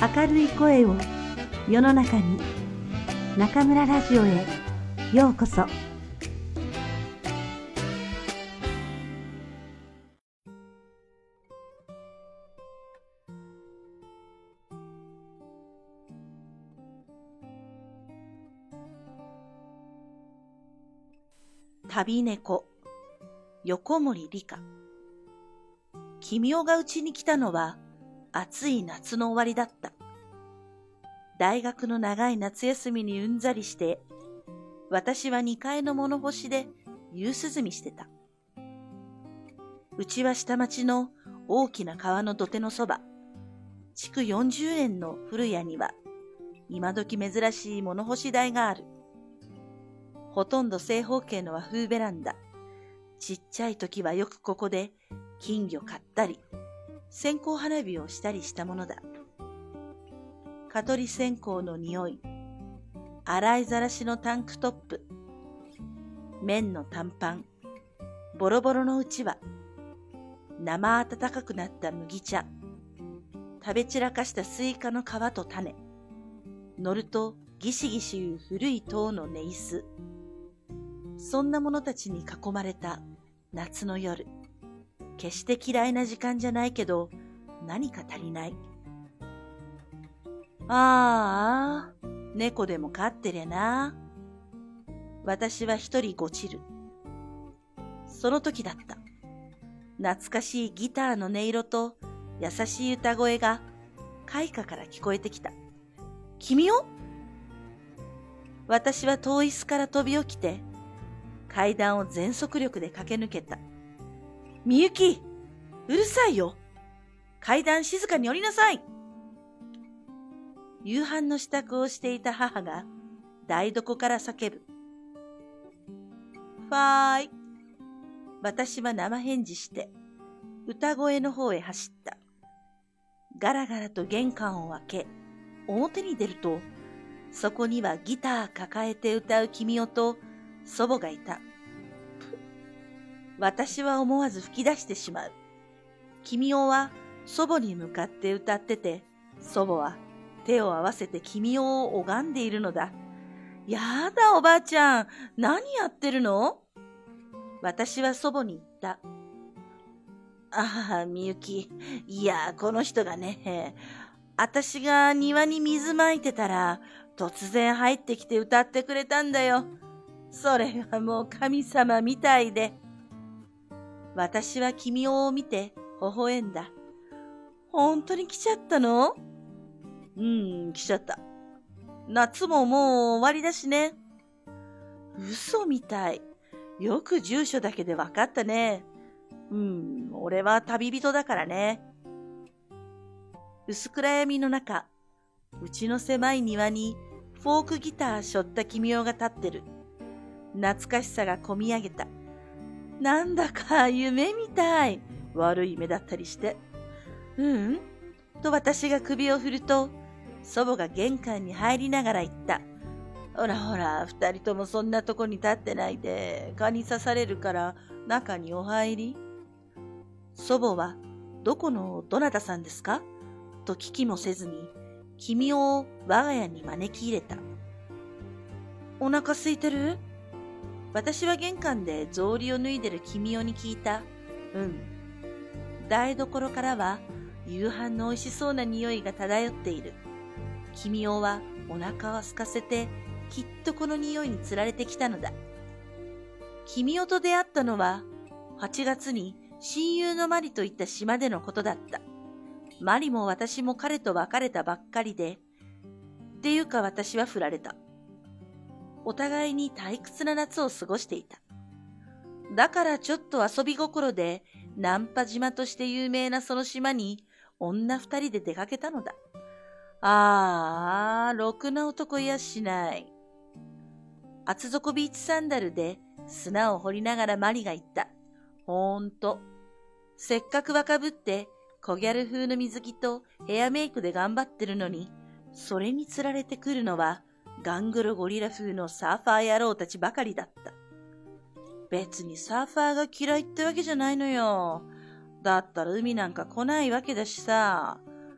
明るい声を世の中に。中村ラジオへようこそ。 旅猫、横森理香。君代がうちに来たのは暑い夏の終わりだった。大学の長い夏休みにうんざりして、私は2階の物干しで夕涼みしてた。うちは下町の大きな川の土手のそば、築40年の古家には、今時珍しい物干し台がある。ほとんど正方形の和風ベランダ。ちっちゃい時はよくここで金魚買ったり、線香花火をしたりしたものだ。蚊取り線香の匂い、洗いざらしのタンクトップ、綿の短パン、ボロボロのうちわ、生温かくなった麦茶、食べ散らかしたスイカの皮と種、乗るとギシギシいう古い塔の寝椅子。そんな者たちに囲まれた夏の夜。決して嫌いな時間じゃないけど、何か足りない。ああ、猫でも飼ってりゃな。私は一人ごちる。その時だった。懐かしいギターの音色と優しい歌声が開花から聞こえてきた。君を？私は遠い椅子から飛び起きて、階段を全速力で駆け抜けた。みゆき、うるさいよ。階段静かに降りなさい。夕飯の支度をしていた母が台所から叫ぶ。ファーイ。私は生返事して歌声の方へ走った。ガラガラと玄関を開け、表に出ると、そこにはギター抱えて歌う君代と祖母がいた。私は思わず吹き出してしまう。君代は祖母に向かって歌ってて、祖母は手を合わせて君代を拝んでいるのだ。やだおばあちゃん、何やってるの？私は祖母に言った。ああ、みゆき、いや、この人がね、私が庭に水まいてたら、突然入ってきて歌ってくれたんだよ。それがもう神様みたいで。私は君代を見て微笑んだ。本当に来ちゃったの？来ちゃった。夏ももう終わりだしね。嘘みたい。よく住所だけで分かったね。俺は旅人だからね。薄暗闇の中、うちの狭い庭にフォークギター背負った君代が立ってる。懐かしさがこみ上げた。なんだか夢みたい。悪い夢だったりして。と私が首を振ると、祖母が玄関に入りながら言った。ほらほら、二人ともそんなとこに立ってないで、蚊に刺されるから中にお入り。祖母は、どこのどなたさんですか？と聞きもせずに、君を我が家に招き入れた。お腹空いてる？私は玄関で草履を脱いでる君代に聞いた。台所からは夕飯の美味しそうな匂いが漂っている。君代はお腹を空かせてきっとこの匂いにつられてきたのだ。君代と出会ったのは8月に親友のマリといった島でのことだった。マリも私も彼と別れたばっかりで、っていうか私は振られた。お互いに退屈な夏を過ごしていた。だからちょっと遊び心でナンパ島として有名なその島に女2人で出かけたのだ。ろくな男いやしない。厚底ビーチサンダルで砂を掘りながらマリが言った。ほんと。せっかく若ぶって小ギャル風の水着とヘアメイクで頑張ってるのに、それにつられてくるのはガングロゴリラ風のサーファー野郎たちばかりだった。別にサーファーが嫌いってわけじゃないのよ。だったら海なんか来ないわけだしさ。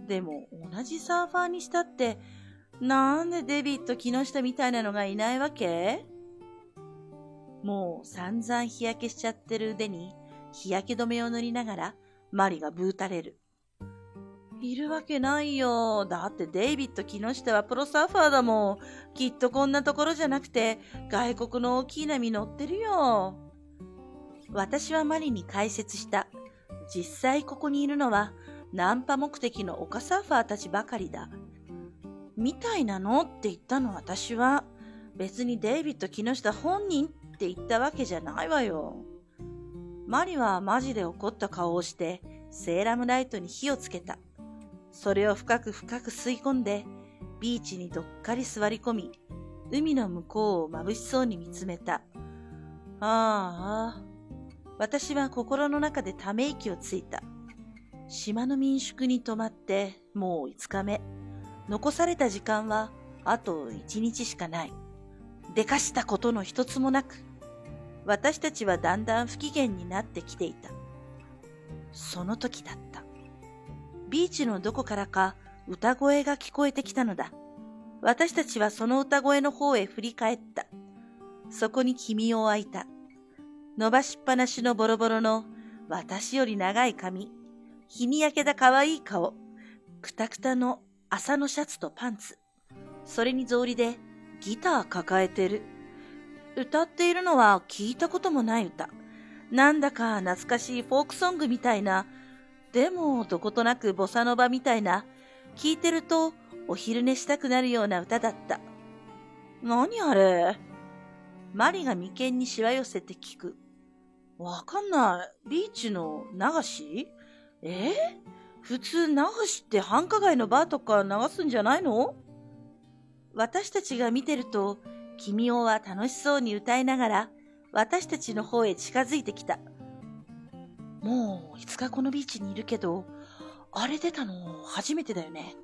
でも同じサーファーにしたって、なんでデビッド木下みたいなのがいないわけ？もう散々日焼けしちゃってる腕に日焼け止めを塗りながらマリがブーたれる。いるわけないよ。だってデイビッド木下はプロサーファーだもん。きっとこんなところじゃなくて外国の大きい波乗ってるよ。私はマリに解説した。実際ここにいるのはナンパ目的の丘サーファーたちばかりだ。みたいなのって言ったの私は。別にデイビッド木下本人って言ったわけじゃないわよ。マリはマジで怒った顔をしてセーラムライトに火をつけた。それを深く深く吸い込んでビーチにどっかり座り込み、海の向こうを眩しそうに見つめた。ああ、私は心の中でため息をついた。島の民宿に泊まってもう5日目。残された時間はあと1日しかない。でかしたことの一つもなく、私たちはだんだん不機嫌になってきていた。その時だった。ビーチのどこからか歌声が聞こえてきたのだ。私たちはその歌声の方へ振り返った。そこに君をあいた。伸ばしっぱなしのボロボロの私より長い髪、日に焼けた可愛い顔、くたくたの麻のシャツとパンツ。それに草履でギター抱えてる。歌っているのは聞いたこともない歌。なんだか懐かしいフォークソングみたいな、でもどことなくボサノバみたいな、聞いてるとお昼寝したくなるような歌だった。何あれ？マリが眉間にしわ寄せて聞く。わかんない。ビーチの流し？普通流しって繁華街のバーとか流すんじゃないの？私たちが見てると、君をは楽しそうに歌いながら私たちの方へ近づいてきた。もう5日このビーチにいるけど、あれ出たの初めてだよね。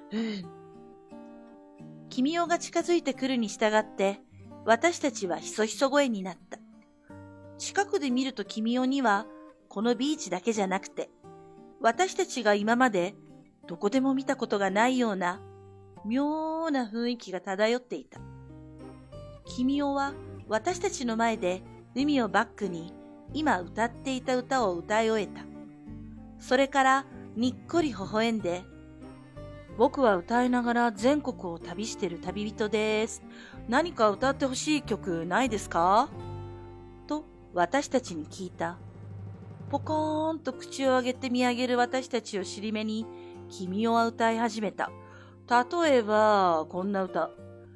君をが近づいてくるに従って、私たちはひそひそ声になった。近くで見ると君をには、このビーチだけじゃなくて、私たちが今までどこでも見たことがないような妙な雰囲気が漂っていた。君をは私たちの前で海をバックに今歌っていた歌を歌い終えた。それからにっこり微笑んで、僕は歌いながら全国を旅してる旅人です。何か歌ってほしい曲ないですか？と私たちに聞いた。ポコーンと口を上げて見上げる私たちを尻目に、君は歌い始めた。例えば、こんな歌。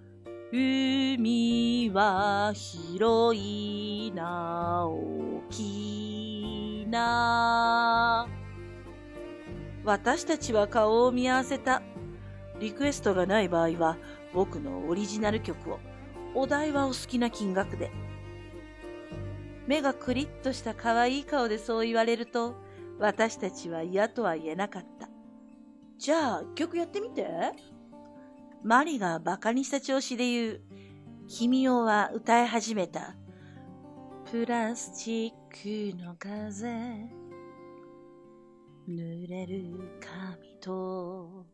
海は広いな、大きな。私たちは顔を見合わせた。リクエストがない場合は、僕のオリジナル曲を。お題はお好きな金額で。目がクリッとした可愛い顔でそう言われると、私たちは嫌とは言えなかった。じゃあ、曲やってみて。マリがバカにした調子で言う。君をは歌い始めた。プラスチックの風、濡れる髪と、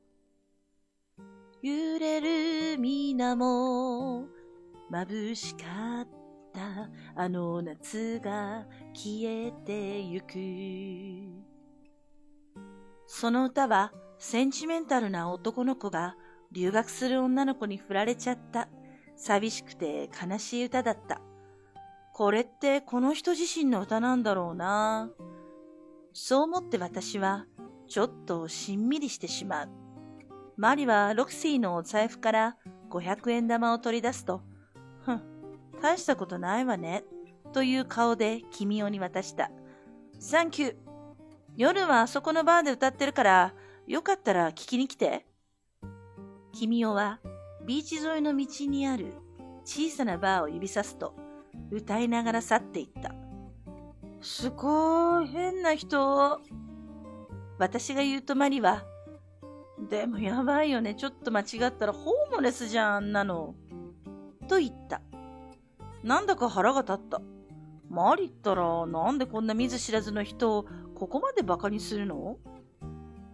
揺れる水も眩しかった。あの夏が消えてゆく。その歌はセンチメンタルな男の子が留学する女の子に振られちゃった寂しくて悲しい歌だった。これってこの人自身の歌なんだろうな。そう思って私はちょっとしんみりしてしまう。マリはロクシーのお財布から500円玉を取り出すと、大したことないわね、という顔で君をに渡した。サンキュー。夜はあそこのバーで歌ってるから、よかったら聞きに来て。君をはビーチ沿いの道にある小さなバーを指さすと、歌いながら去っていった。すごい変な人。私が言うとマリは、でもやばいよね、ちょっと間違ったらホームレスじゃん、あんなの。と言った。なんだか腹が立った。マリったらなんでこんな見ず知らずの人をここまでバカにするの？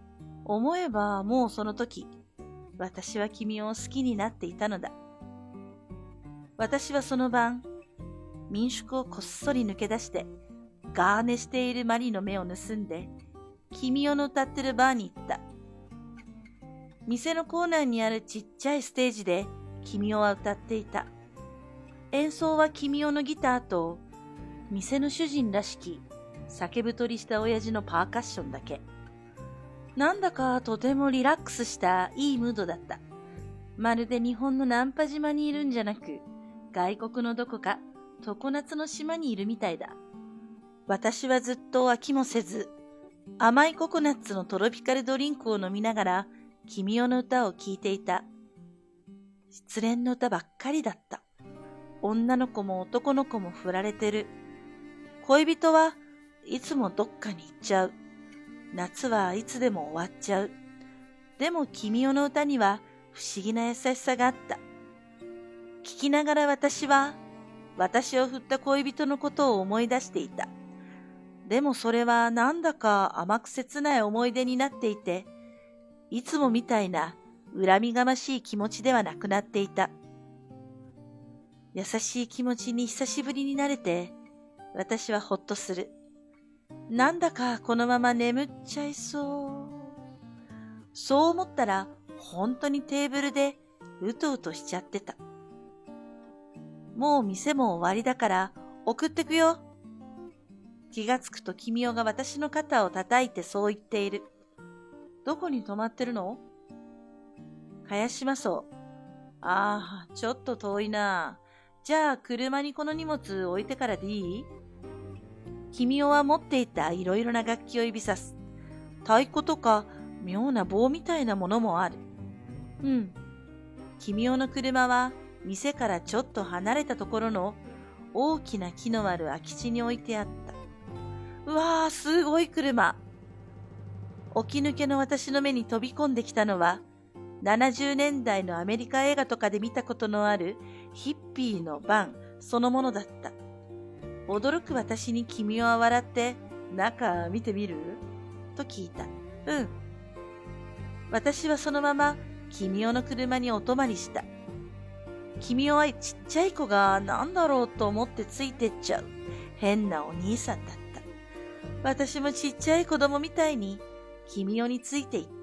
思えばもうその時、私は君を好きになっていたのだ。私はその晩、民宿をこっそり抜け出して、ガーネしているマリの目を盗んで、君代の歌ってるバーに行った。店のコーナーにあるちっちゃいステージで君代は歌っていた。演奏は君代のギターと、店の主人らしき酒太りした親父のパーカッションだけ。なんだかとてもリラックスしたいいムードだった。まるで日本のナンパ島にいるんじゃなく、外国のどこか常夏の島にいるみたいだ。私はずっと飽きもせず、甘いココナッツのトロピカルドリンクを飲みながら、君代の歌を聴いていた。失恋の歌ばっかりだった。女の子も男の子も振られてる。恋人はいつもどっかに行っちゃう。夏はいつでも終わっちゃう。でも君代の歌には不思議な優しさがあった。聞きながら私は、私を振った恋人のことを思い出していた。でもそれはなんだか甘く切ない思い出になっていて、いつもみたいな恨みがましい気持ちではなくなっていた。優しい気持ちに久しぶりになれて、私はほっとする。なんだかこのまま眠っちゃいそう。そう思ったら本当にテーブルでうとうとしちゃってた。もう店も終わりだから送ってくよ。気がつくと君代が私の肩を叩いてそう言っている。どこに泊まってるの？茅島荘。ああ、ちょっと遠いな。じゃあ車にこの荷物置いてからでいい？君代は持っていたいろいろな楽器を指さす。太鼓とか妙な棒みたいなものもある。うん。君代の車は店からちょっと離れたところの大きな木のある空き地に置いてあった。うわー、すごい車。起き抜けの私の目に飛び込んできたのは、70年代のアメリカ映画とかで見たことのあるヒッピーのバンそのものだった。驚く私に君代は笑って、中見てみる？と聞いた。うん。私はそのまま君代の車にお泊まりした。君代はちっちゃい子が何だろうと思ってついてっちゃう変なお兄さんだった。私もちっちゃい子供みたいに君代についていった。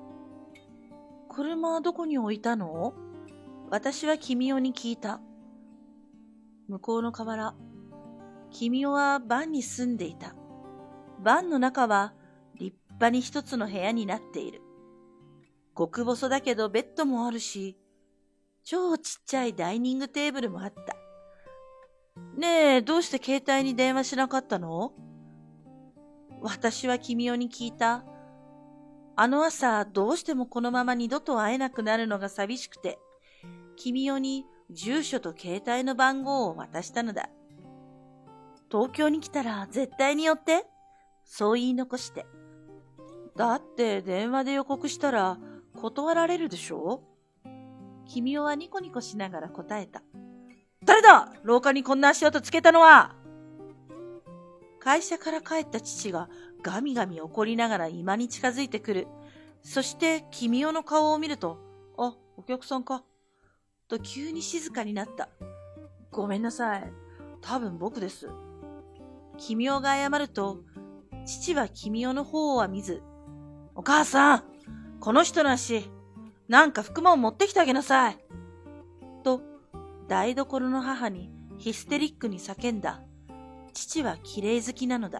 車はどこに置いたの？私は君代に聞いた。向こうの河原。君代はバンに住んでいた。バンの中は立派に一つの部屋になっている。極細だけどベッドもあるし、超ちっちゃいダイニングテーブルもあった。ねえ、どうして携帯に電話しなかったの？私は君代に聞いた。あの朝、どうしてもこのまま二度と会えなくなるのが寂しくて、君代に住所と携帯の番号を渡したのだ。東京に来たら絶対に寄って、そう言い残して。だって電話で予告したら断られるでしょ？君代はニコニコしながら答えた。誰だ？廊下にこんな足音つけたのは！会社から帰った父がガミガミ怒りながら居間に近づいてくる。そして君代の顔を見ると、あ、お客さんか。と急に静かになった。ごめんなさい。多分僕です。君代が謝ると、父は君代の方は見ず、お母さん、この人の足、なんか服も持ってきてあげなさい。と、台所の母にヒステリックに叫んだ。父は綺麗好きなのだ。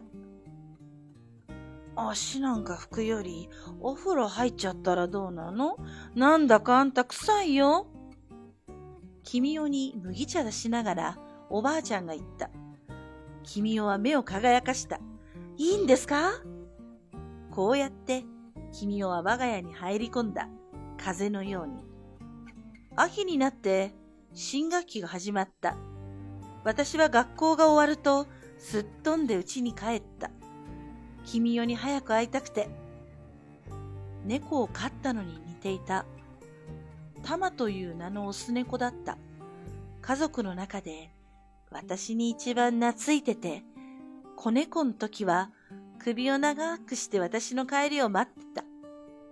足なんか拭くよりお風呂入っちゃったらどうなの？なんだかあんた臭いよ。君代に麦茶出しながらおばあちゃんが言った。君代は目を輝かした。いいんですか？こうやって君代は我が家に入り込んだ。風のように。秋になって新学期が始まった。私は学校が終わるとすっ飛んで家に帰った。君代に早く会いたくて。猫を飼ったのに似ていた。タマという名のオス猫だった。家族の中で私に一番懐いてて、子猫の時は首を長くして私の帰りを待ってた。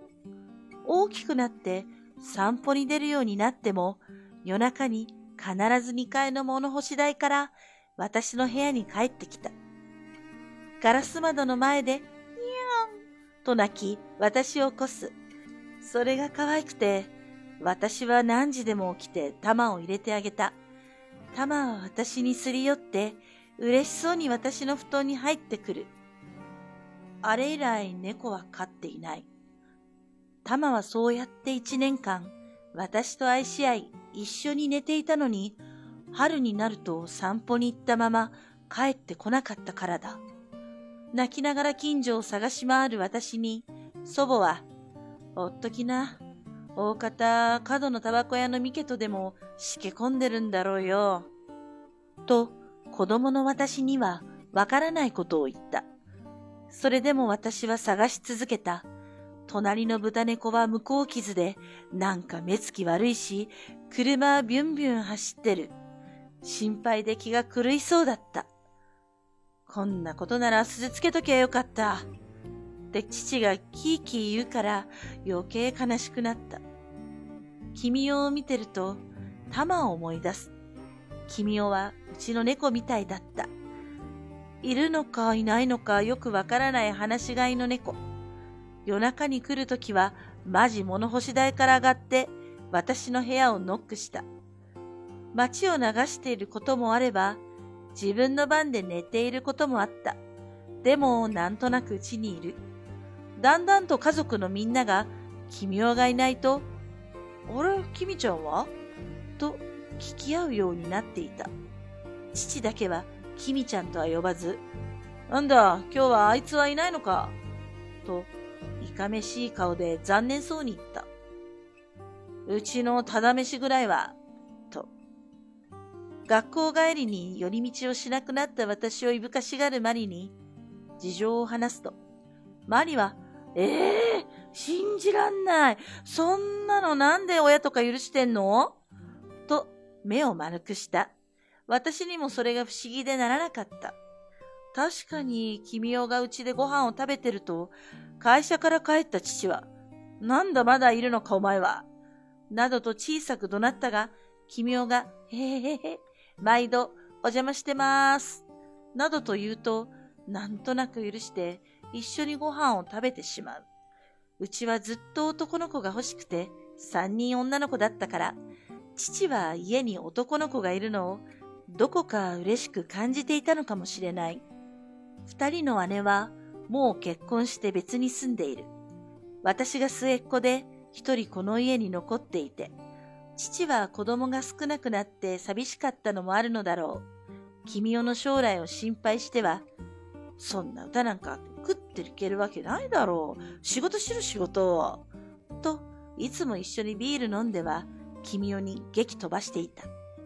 大きくなって散歩に出るようになっても、夜中に必ず2階の物干し台から私の部屋に帰ってきた。ガラス窓の前で、にゃんと泣き、私を起こす。それが可愛くて、私は何時でも起きて玉を入れてあげた。玉は私にすり寄って、嬉しそうに私の布団に入ってくる。あれ以来猫は飼っていない。玉はそうやって1年間、私と愛し合い、一緒に寝ていたのに、春になると散歩に行ったまま帰ってこなかったからだ。泣きながら近所を探し回る私に、祖母は、おっときな。大方、角のタバコ屋のミケとでもしけ込んでるんだろうよ。と、子供の私にはわからないことを言った。それでも私は探し続けた。隣の豚猫は向こう傷で、なんか目つき悪いし、車はビュンビュン走ってる。心配で気が狂いそうだった。こんなことなら鈴つけときゃよかった。って父がキーキー言うから余計悲しくなった。君を見てると、タマを思い出す。君はうちの猫みたいだった。いるのかいないのかよくわからない放し飼いの猫。夜中に来るときはマジ物干し台から上がって私の部屋をノックした。街を流していることもあれば、自分の番で寝ていることもあった。でもなんとなくうちにいる。だんだんと家族のみんなが君がいないと、あれ、君ちゃんはと聞き合うようになっていた。父だけは君ちゃんとは呼ばず、なんだ、今日はあいつはいないのかと、いかめしい顔で残念そうに言った。うちのただ飯ぐらいは、と。学校帰りに寄り道をしなくなった私をいぶかしがるマリに事情を話すと、マリは、信じらんない。そんなのなんで親とか許してんのと目を丸くした。私にもそれが不思議でならなかった。確かに君がうちでご飯を食べてると、会社から帰った父は、なんだまだいるのかお前は。などと小さく怒鳴ったが、君が、へへへへ、毎度お邪魔してます。などと言うと、なんとなく許して一緒にご飯を食べてしまう。うちはずっと男の子が欲しくて、3人女の子だったから、父は家に男の子がいるのをどこか嬉しく感じていたのかもしれない。2人の姉はもう結婚して別に住んでいる。私が末っ子で一人この家に残っていて、父は子供が少なくなって寂しかったのもあるのだろう。君の将来を心配しては、そんな歌なんか食っていけるわけないだろう。仕事しろ仕事。と、いつも一緒にビール飲んでは、君に激飛ばしていた。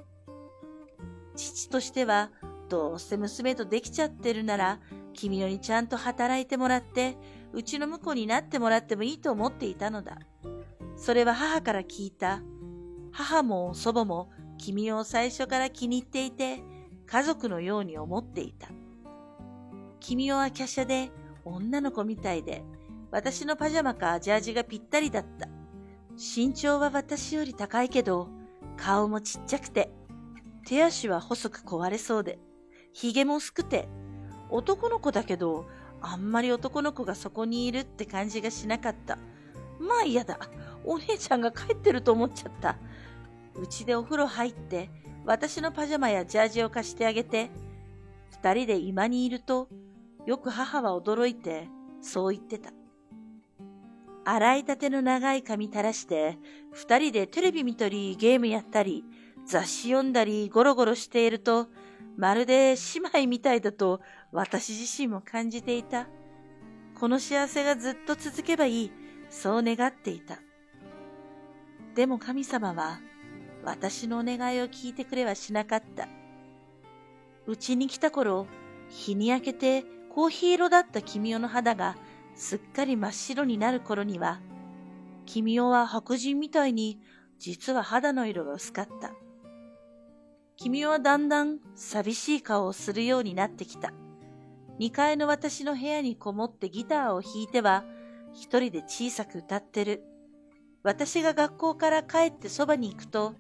父としては、どうせ娘とできちゃってるなら、君にちゃんと働いてもらって、うちの婿になってもらってもいいと思っていたのだ。それは母から聞いた。母も祖母も君を最初から気に入っていて、家族のように思っていた。君は華奢で女の子みたいで、私のパジャマかジャージがぴったりだった。身長は私より高いけど、顔もちっちゃくて、手足は細く壊れそうで、髭も薄くて、男の子だけど、あんまり男の子がそこにいるって感じがしなかった。まあ嫌だ。お姉ちゃんが帰ってると思っちゃった。うちでお風呂入って、私のパジャマやジャージを貸してあげて、2人で居間にいると、よく母は驚いて、そう言ってた。洗いたての長い髪垂らして、2人でテレビ見たり、ゲームやったり、雑誌読んだり、ゴロゴロしていると、まるで姉妹みたいだと、私自身も感じていた。この幸せがずっと続けばいい、そう願っていた。でも神様は、私のお願いを聞いてくれはしなかった。うちに来た頃、日に焼けてコーヒー色だった君の肌がすっかり真っ白になる頃には、君は白人みたいに実は肌の色が薄かった。君はだんだん寂しい顔をするようになってきた。2階の私の部屋にこもってギターを弾いては、一人で小さく歌ってる。 私が学校から帰ってそばに行くと、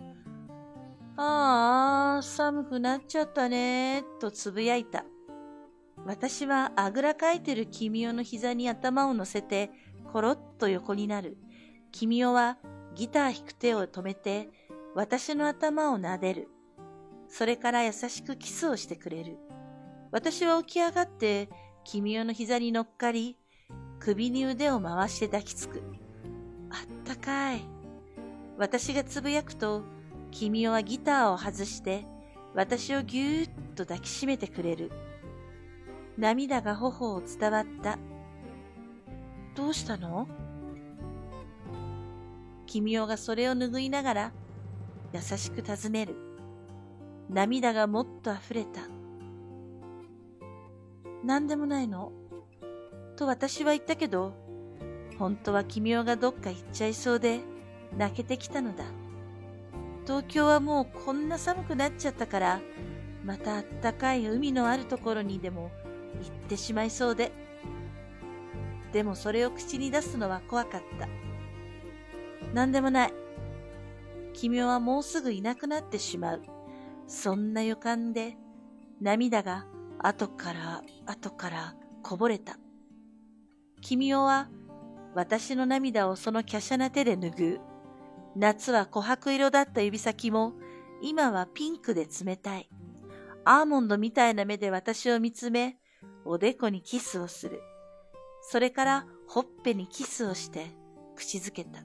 ああ、寒くなっちゃったね、とつぶやいた。私はあぐらかいてる君代の膝に頭を乗せて、コロッと横になる。君代はギター弾く手を止めて、私の頭を撫でる。それから優しくキスをしてくれる。私は起き上がって、君代の膝に乗っかり、首に腕を回して抱きつく。あったかい。私がつぶやくと、君代はギターを外して、私をぎゅーっと抱きしめてくれる。涙が頬を伝わった。どうしたの？君代がそれを拭いながら、優しく尋ねる。涙がもっと溢れた。なんでもないの？と私は言ったけど、本当は君代がどっか行っちゃいそうで、泣けてきたのだ。東京はもうこんな寒くなっちゃったから、またあったかい海のあるところにでも行ってしまいそうで。でもそれを口に出すのは怖かった。なんでもない。君代はもうすぐいなくなってしまう。そんな予感で、涙が後からこぼれた。君代は私の涙をその華奢な手で拭う。夏は琥珀色だった指先も今はピンクで冷たい。アーモンドみたいな目で私を見つめ、おでこにキスをする。それからほっぺにキスをして口づけた。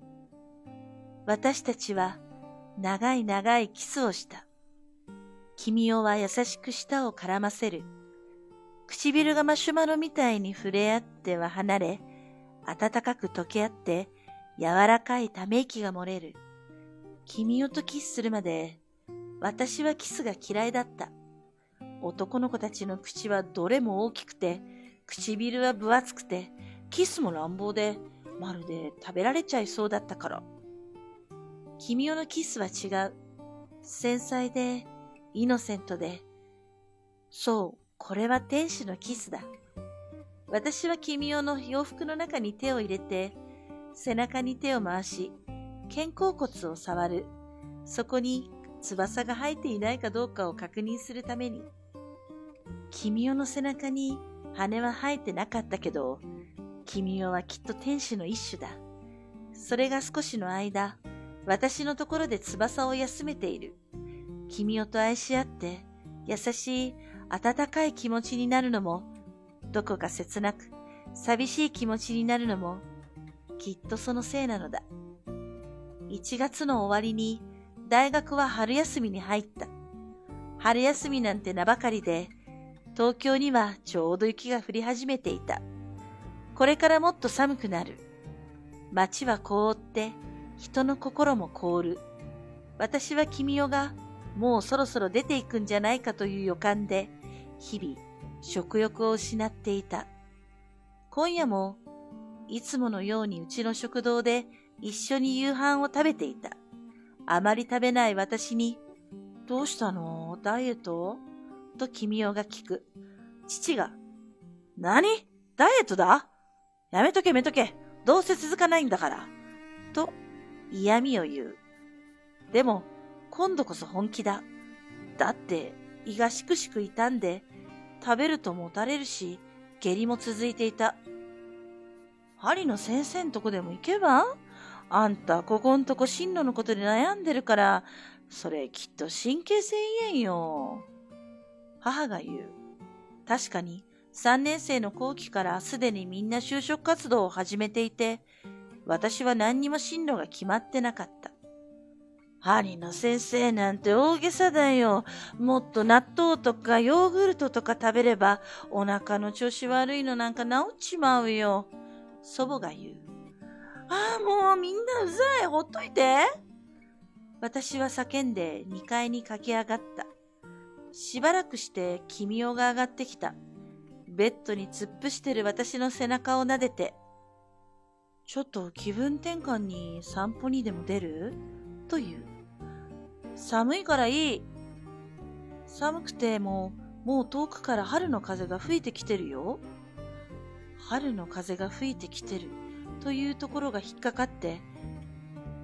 私たちは長い長いキスをした。君代は優しく舌を絡ませる。唇がマシュマロみたいに触れ合っては離れ、暖かく溶け合って柔らかいため息が漏れる。君代とキスするまで、私はキスが嫌いだった。男の子たちの口はどれも大きくて、唇は分厚くて、キスも乱暴で、まるで食べられちゃいそうだったから。君代のキスは違う。繊細で、イノセントで。そう、これは天使のキスだ。私は君代の洋服の中に手を入れて、背中に手を回し、肩甲骨を触る。そこに翼が生えていないかどうかを確認するために。君代の背中に羽は生えてなかったけど、君代はきっと天使の一種だ。それが少しの間、私のところで翼を休めている。君代と愛し合って、優しい温かい気持ちになるのも、どこか切なく寂しい気持ちになるのも、きっとそのせいなのだ。1月の終わりに大学は春休みに入った。春休みなんて名ばかりで、東京にはちょうど雪が降り始めていた。これからもっと寒くなる。街は凍って、人の心も凍る。私は君代がもうそろそろ出ていくんじゃないかという予感で、日々食欲を失っていた。今夜もいつものようにうちの食堂で一緒に夕飯を食べていた。あまり食べない私に、どうしたの？ダイエット？と君代が聞く。父が、何？ダイエットだ？やめとけ。どうせ続かないんだから。と嫌味を言う。でも今度こそ本気だ。だって胃がしくしく痛んで、食べるともたれるし、下痢も続いていた。針の先生んとこでも行けば？あんたここんとこ進路のことで悩んでるから、それきっと神経性胃炎よ。母が言う。確かに3年生の後期からすでにみんな就職活動を始めていて、私は何にも進路が決まってなかった。針の先生なんて大げさだよ。もっと納豆とかヨーグルトとか食べればお腹の調子悪いのなんか治っちまうよ。祖母が言う。ああ、もうみんなうざい。ほっといて。私は叫んで2階に駆け上がった。しばらくして君代が上がってきた。ベッドに突っ伏してる私の背中を撫でて、ちょっと気分転換に散歩にでも出る？と言う。寒いからいい。寒くてもう遠くから春の風が吹いてきてるよ。春の風が吹いてきてるというところが引っかかって、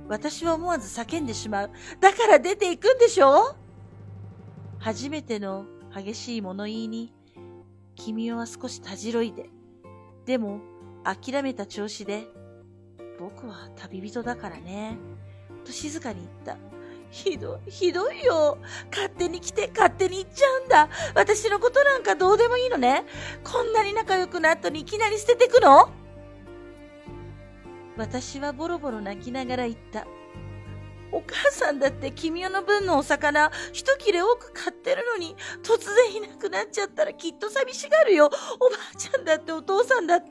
私は思わず叫んでしまう。だから出ていくんでしょ？初めての激しい物言いに、君は少したじろいで、でも諦めた調子で、僕は旅人だからね、と静かに言った。ひどいよ。勝手に来て勝手に行っちゃうんだ。私のことなんかどうでもいいのね。こんなに仲良くなったのにいきなり捨ててくの？私はボロボロ泣きながら言った。お母さんだって君の分のお魚一切れ多く買ってるのに、突然いなくなっちゃったらきっと寂しがるよ。おばあちゃんだってお父さんだって。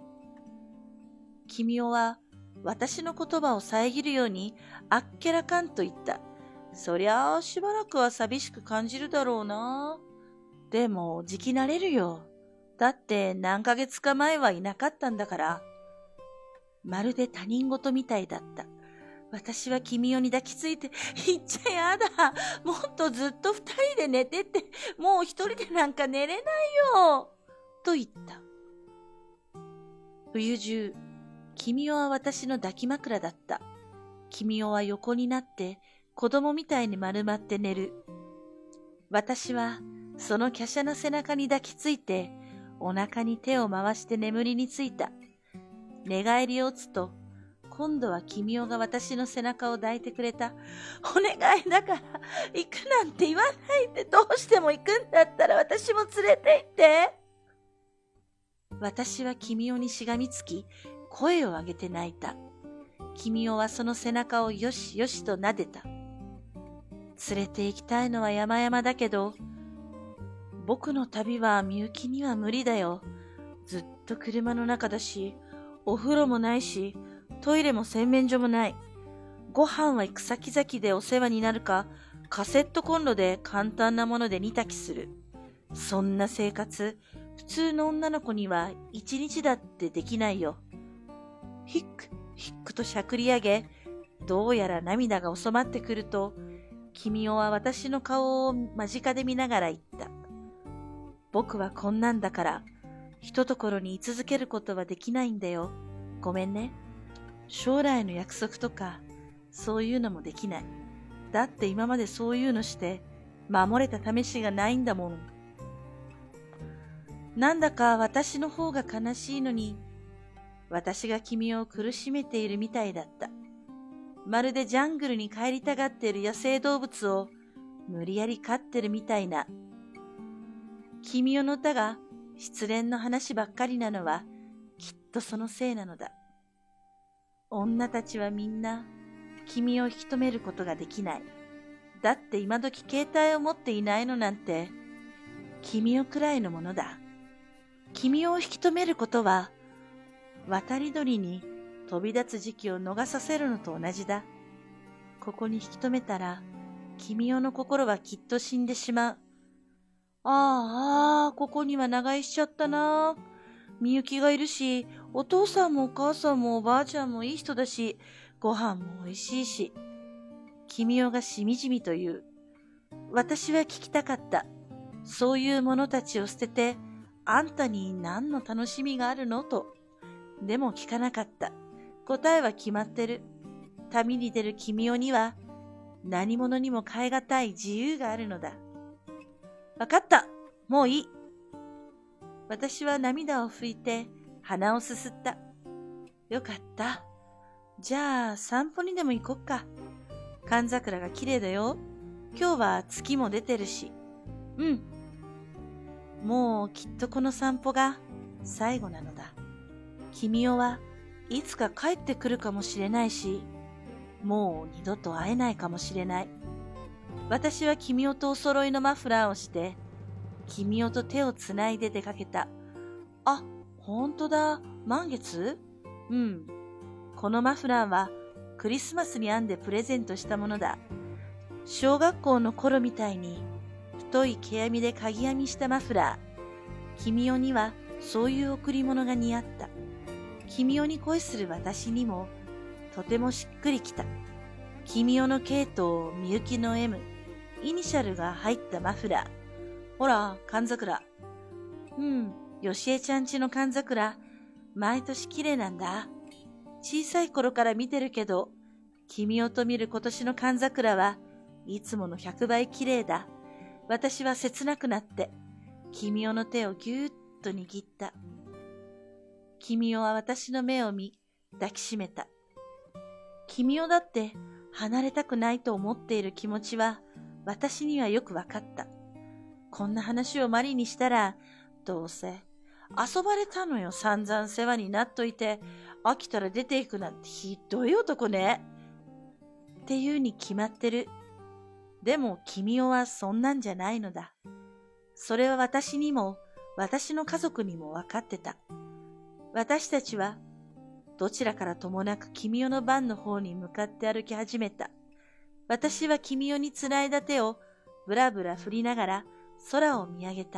君は私の言葉を遮るようにあっけらかんと言った。そりゃあしばらくは寂しく感じるだろうな。でもじき慣れるよ。だって何ヶ月か前はいなかったんだから。まるで他人事みたいだった。私は君に抱きついて、言っちゃやだ。もっとずっと二人で寝てって、もう一人でなんか寝れないよ。と言った。冬中、君は私の抱き枕だった。君は横になって子供みたいに丸まって寝る。私はその華奢な背中に抱きついてお腹に手を回して眠りについた。寝返りを打つと今度は君が私の背中を抱いてくれた。お願いだから行くなんて言わないで。どうしても行くんだったら私も連れて行って。私は君にしがみつき声を上げて泣いた。君はその背中をよしよしと撫でた。連れて行きたいのは山々だけど、僕の旅はみゆきには無理だよ。ずっと車の中だし、お風呂もないし、トイレも洗面所もない。ご飯は行く先々でお世話になるか、カセットコンロで簡単なもので煮炊きする。そんな生活、普通の女の子には一日だってできないよ。ヒックとしゃくり上げ、どうやら涙が収まってくると、君は私の顔を間近で見ながら言った。僕はこんなんだから、ひとところに居続けることはできないんだよ。ごめんね。将来の約束とか、そういうのもできない。だって今までそういうのして、守れた試しがないんだもん。なんだか私の方が悲しいのに、私が君を苦しめているみたいだった。まるでジャングルに帰りたがっている野生動物を無理やり飼ってるみたいな。君の歌が失恋の話ばっかりなのはきっとそのせいなのだ。女たちはみんな君を引き止めることができない。だって今時携帯を持っていないのなんて君くらいのものだ。君を引き止めることは渡り鳥に飛び立つ時期を逃させるのと同じだ。ここに引き止めたら君の心はきっと死んでしまう。ここには長居しちゃったな。みゆきがいるし、お父さんもお母さんもおばあちゃんもいい人だし、ご飯も美味しいし。君がしみじみと言う。私は聞きたかった。そういう者たちを捨てて、あんたに何の楽しみがあるのと。でも聞かなかった。答えは決まってる。旅に出る君には、何者にも代え難い自由があるのだ。わかった。もういい。私は涙を拭いて鼻をすすった。よかった。じゃあ散歩にでも行こっか。寒桜が綺麗だよ。今日は月も出てるし。うん。もうきっとこの散歩が最後なのだ。君はいつか帰ってくるかもしれないし、もう二度と会えないかもしれない。私は君とお揃いのマフラーをして、君と手をつないで出かけた。あ、ほんとだ。満月？うん。このマフラーはクリスマスに編んでプレゼントしたものだ。小学校の頃みたいに太い毛編みで鍵編みしたマフラー。君にはそういう贈り物が似合った。君に恋する私にもとてもしっくりきた。君の K とみゆきの M、イニシャルが入ったマフラー。ほら、寒桜。よしえちゃんちの寒桜、毎年綺麗なんだ。小さい頃から見てるけど、 君をと見る今年の寒桜はいつもの100倍綺麗だ。私は切なくなって、君代の手をぎゅーっと握った。君代は私の目を見、抱きしめた。君代だって離れたくないと思っている気持ちは私にはよくわかった。こんな話をマリにしたら、どうせ遊ばれたのよ。散々世話になっといて、飽きたら出ていくなんてひどい男ね。っていうに決まってる。でも君代はそんなんじゃないのだ。それは私にも私の家族にもわかってた。私たちはどちらからともなく君代の番の方に向かって歩き始めた。私は君代につないだ手をぶらぶら振りながら空を見上げた。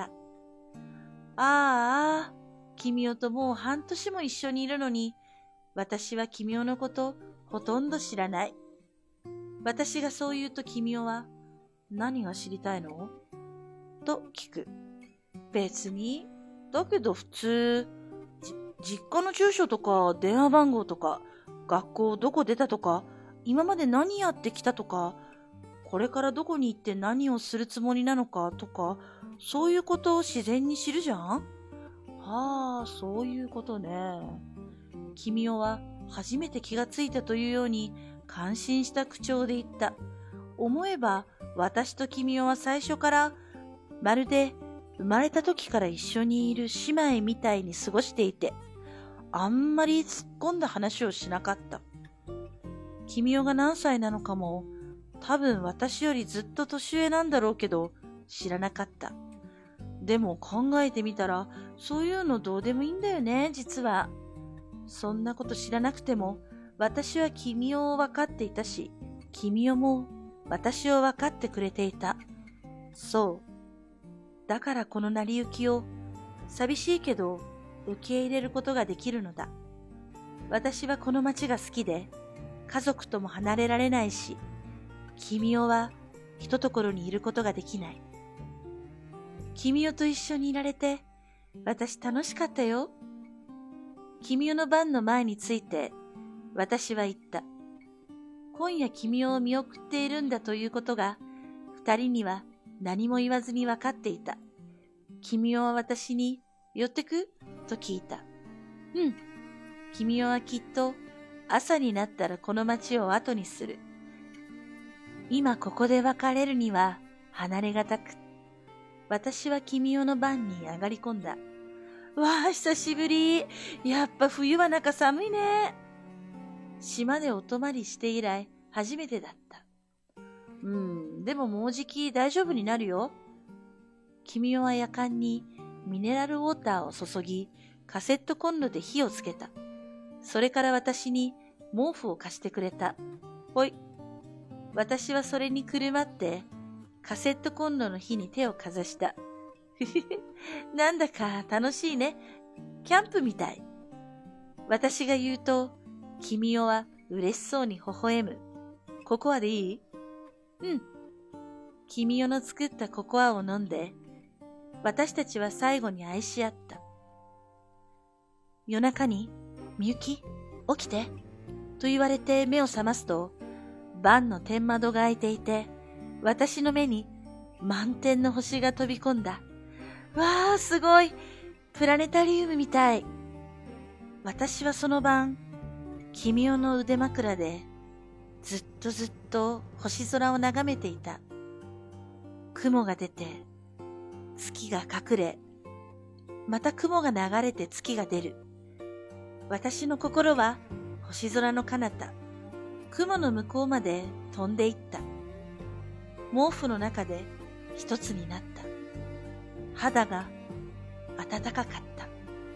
ああ、君代ともう半年も一緒にいるのに、私は君代のことほとんど知らない。私がそう言うと君代は、何が知りたいのと聞く。別に。だけど普通、実家の住所とか電話番号とか、学校どこ出たとか、今まで何やってきたとか、これからどこに行って何をするつもりなのかとか、そういうことを自然に知るじゃん。はあ、そういうことね。君代は初めて気がついたというように感心した口調で言った。思えば私と君代は最初からまるで生まれた時から一緒にいる姉妹みたいに過ごしていて、あんまり突っ込んだ話をしなかった。君代が何歳なのかも、多分私よりずっと年上なんだろうけど、知らなかった。でも考えてみたら、そういうのどうでもいいんだよね、実は。そんなこと知らなくても、私は君代を分かっていたし、君代も私を分かってくれていた。そう。だからこの成り行きを、寂しいけど受け入れることができるのだ。私はこの町が好きで、家族とも離れられないし、君代はひとところにいることができない。君代と一緒にいられて、私楽しかったよ。君代の番の前について、私は言った。今夜君代を見送っているんだということが、二人には何も言わずに分かっていた。君代は私に、寄ってくと聞いた。うん。君代はきっと、朝になったらこの町を後にする。今ここで別れるには離れがたく。私は君代の番に上がり込んだ。わあ、久しぶり。やっぱ冬は中寒いね。島でお泊まりして以来初めてだった。でももうじき大丈夫になるよ。君代はやかんにミネラルウォーターを注ぎ、カセットコンロで火をつけた。それから私に毛布を貸してくれた。ほい。私はそれにくるまって、カセットコンロの火に手をかざした。なんだか楽しいね。キャンプみたい。私が言うと、君代は嬉しそうに微笑む。ココアでいい？うん。君代の作ったココアを飲んで、私たちは最後に愛し合った。夜中に、みゆき、起きて、と言われて目を覚ますと、晩の天窓が開いていて、私の目に満天の星が飛び込んだ。わあ、すごい。プラネタリウムみたい。私はその晩、君代の腕枕で、ずっと星空を眺めていた。雲が出て、月が隠れ、また雲が流れて月が出る。私の心は星空の彼方、雲の向こうまで飛んでいった。毛布の中で一つになった。肌が暖かかった。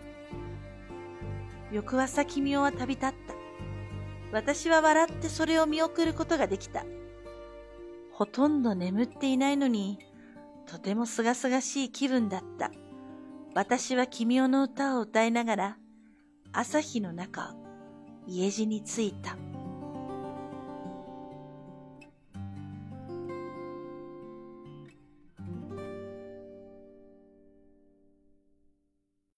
翌朝君代は旅立った。私は笑ってそれを見送ることができた。ほとんど眠っていないのに、とてもすがすがしい気分だった。私は君代の歌を歌いながら、朝日の中、家路に着いた。